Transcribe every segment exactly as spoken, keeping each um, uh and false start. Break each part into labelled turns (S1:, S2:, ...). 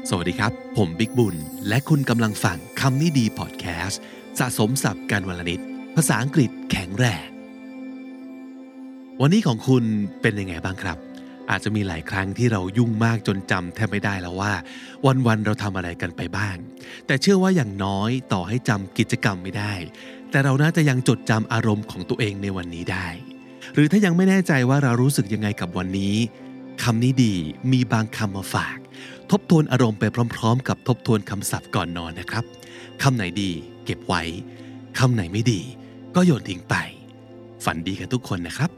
S1: สวัสดีครับผมบิ๊กบุญและคุณกำลังฟังคำนี้ดีพอดแคสต์สะสมศัพท์กันวลนิดภาษาอังกฤษแข็งแรงวันนี้ของคุณเป็นยังไงบ้างครับอาจจะมีหลายครั้งที่เรายุ่งมากจนจำแทบไม่ได้แล้วว่าวันๆเราทำอะไรกันไปบ้างแต่เชื่อว่าอย่างน้อยต่อให้จำกิจกรรมไม่ได้แต่เราน่าจะยังจดจำอารมณ์ของตัวเองในวันนี้ได้หรือถ้ายังไม่แน่ใจว่าเรารู้สึกยังไงกับวันนี้คำนี้ดีมีบางคำมาฝากทบทวนอารมณ์ไปพร้อมๆกับทบทวนคำศัพท์ก่อนนอนนะครับคำไหนดีเก็บไว้คำไหนไม่ดีก็โยนทิ้งไปฝันดีกันทุกคนนะครับ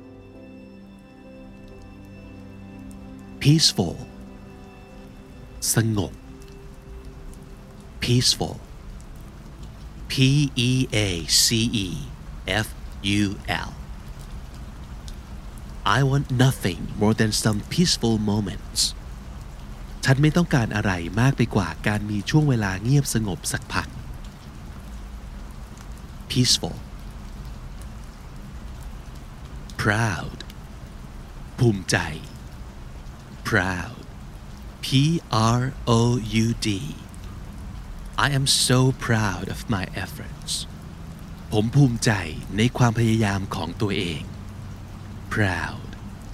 S1: peaceful สงบ peaceful P E A C E F U L I want nothing more than some peaceful momentsฉันไม่ต้องการอะไรมากไปกว่าการมีช่วงเวลาเงียบสงบสักพัก peaceful proud ภูมิใจ proud P R O U D I am so proud of my efforts ผมภูมิใจในความพยายามของตัวเอง proud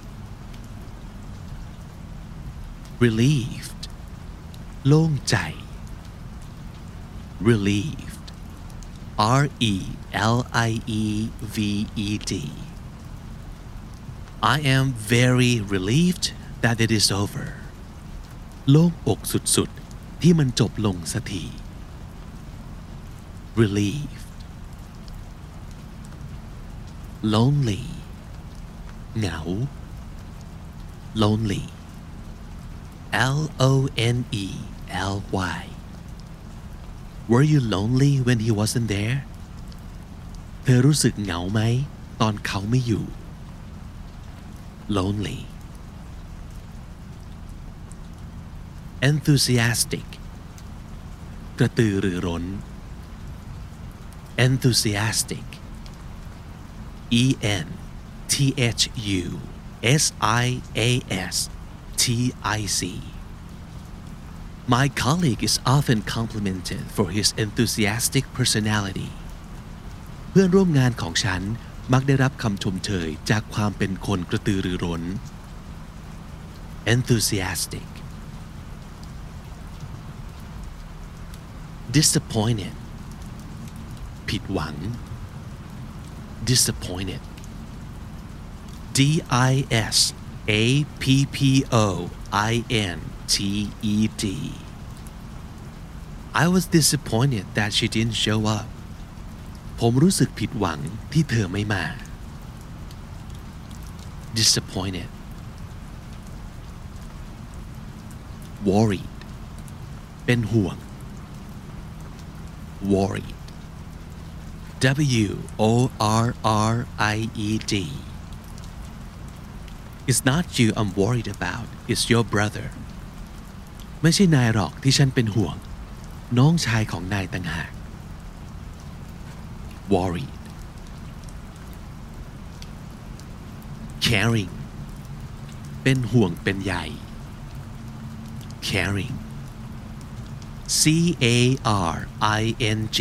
S1: relieved โล่งใจ relieved R E L I E V E D I am very relieved that it is over โล่งอกสุดๆที่มันจบลงสักที relieved lonely เหงา lonely L O N E L Y Were you lonely when he wasn't there เธอรู้สึกเหงาไหมตอนเขาไม่อยู่ lonely enthusiastic กระตือรือร้น enthusiastic E N T H U S I A S T I C My colleague is often complimented for his enthusiastic personality เพื่อนร่วมงานของฉันมักได้รับคำชมเชยจากความเป็นคนกระตือรือร้น enthusiastic disappointed ผิดหวัง disappointed D I S A P P O I N T E D I was disappointed that she didn't show up ผมรู้สึกผิดหวังที่เธอไม่มา disappointed worried เป็นห่วง worried W O R R I E D It's not you I'm worried about it's your brother ไม่ใช่นายหรอกที่ฉันเป็นห่วงน้องชายของนายต่างหาก worried caring เป็นห่วงเป็นใย caring C A R I N G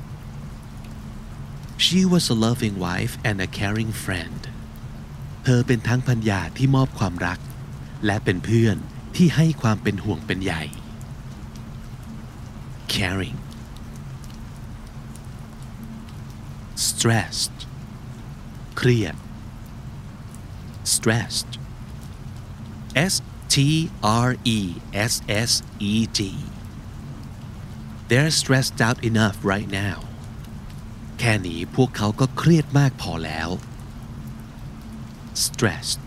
S1: She was a loving wife and a caring friend เธอเป็นทั้งภรรยาที่มอบความรักและเป็นเพื่อนที่ให้ความเป็นห่วงเป็นใย caring stressed เครียด stressed S T R E S S E D They're stressed out enough right now แค่นี้พวกเขาก็เครียดมากพอแล้ว stressed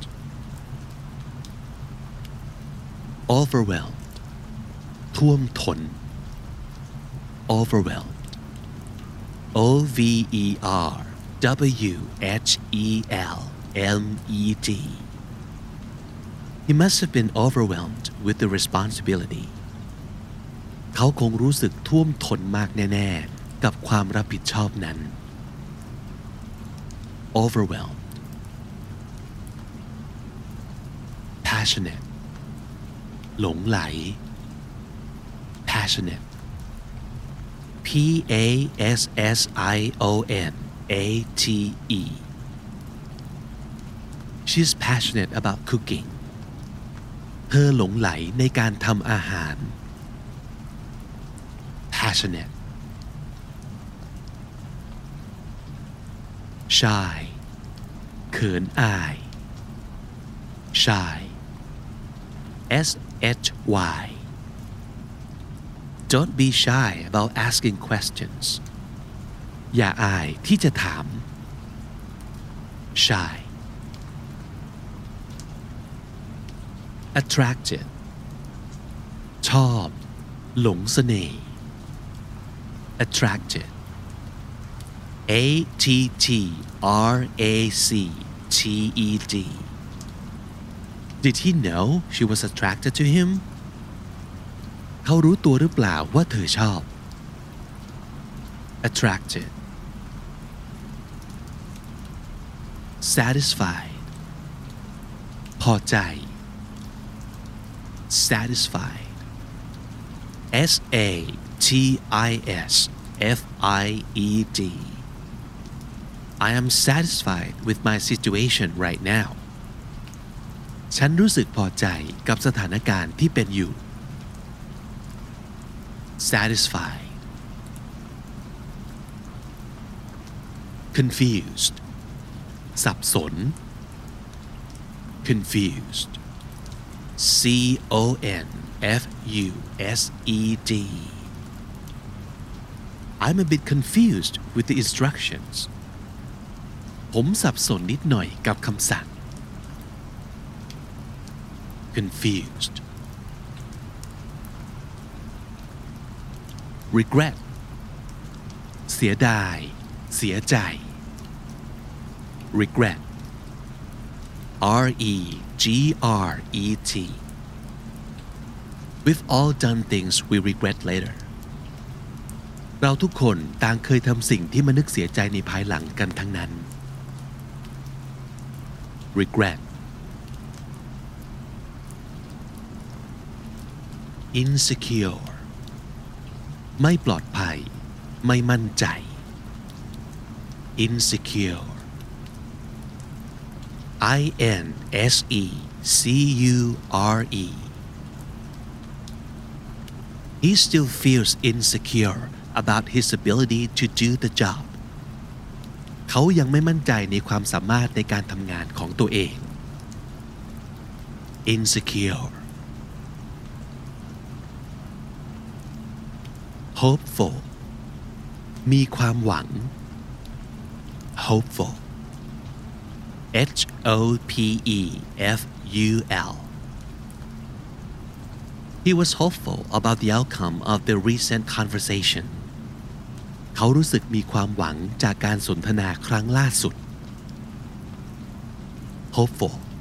S1: overwhelmed ท่วมท้น overwhelmed O V E R W H E L M E D He must have been overwhelmed with the responsibility เขาคงรู้สึกท่วมท้นมากแน่ๆกับความรับผิดชอบนั้น overwhelmed passionate หลงไหล passionate P A S S I O N A T E She's passionate about cooking เธอหลงไหลในการทำอาหาร passionate shy เขินอาย shy S H Y Don't be shy about asking questions อย่าอายที่จะถาม shy attracted ชอบหลงเสน่ห์ attracted A T T R A C T E D Did he know she was attracted to him เขารู้ตัวหรือเปล่าว่าเธอชอบ attracted satisfied พอใจ satisfied S A T I S F I E D I am satisfied with my situation right now ฉันรู้สึกพอใจกับสถานการณ์ที่เป็นอยู่ satisfied confused สับสน confused C O N F U S E D I'm a bit confused with the instructions ผมสับสนนิดหน่อยกับคำสั่ง confused regret เสียดายเสียใจ regret R E G R E T We've all done things we regret later เราทุกคนต่างเคยทำสิ่งที่มานึกเสียใจในภายหลังกันทั้งนั้น regret insecure ไม่ปลอดภัยไม่มั่นใจ insecure I N S E C U R E He still feels insecure about his ability to do the job เขายังไม่มั่นใจในความสามารถในการทำงานของตัวเอง insecure hopeful มีความหวัง hopeful H O P E F U L He was hopeful about the outcome of the recent conversation เขารู้สึกมีความหวังจากการสนทนาครั้งล่าสุด hopeful